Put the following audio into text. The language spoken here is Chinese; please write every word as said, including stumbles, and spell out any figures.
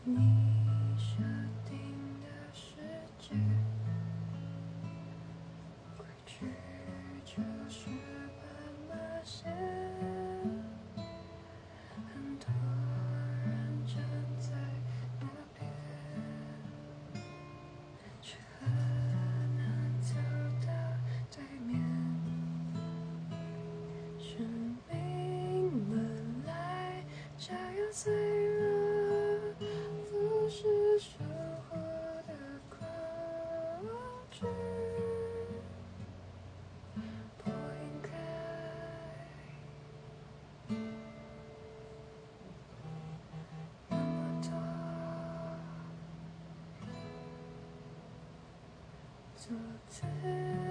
你设定的世界，规矩就是斑马线，很多人站在那边，却很难走到对面。生命本来这样脆弱，不是生活的恐惧，不应该那么多。做自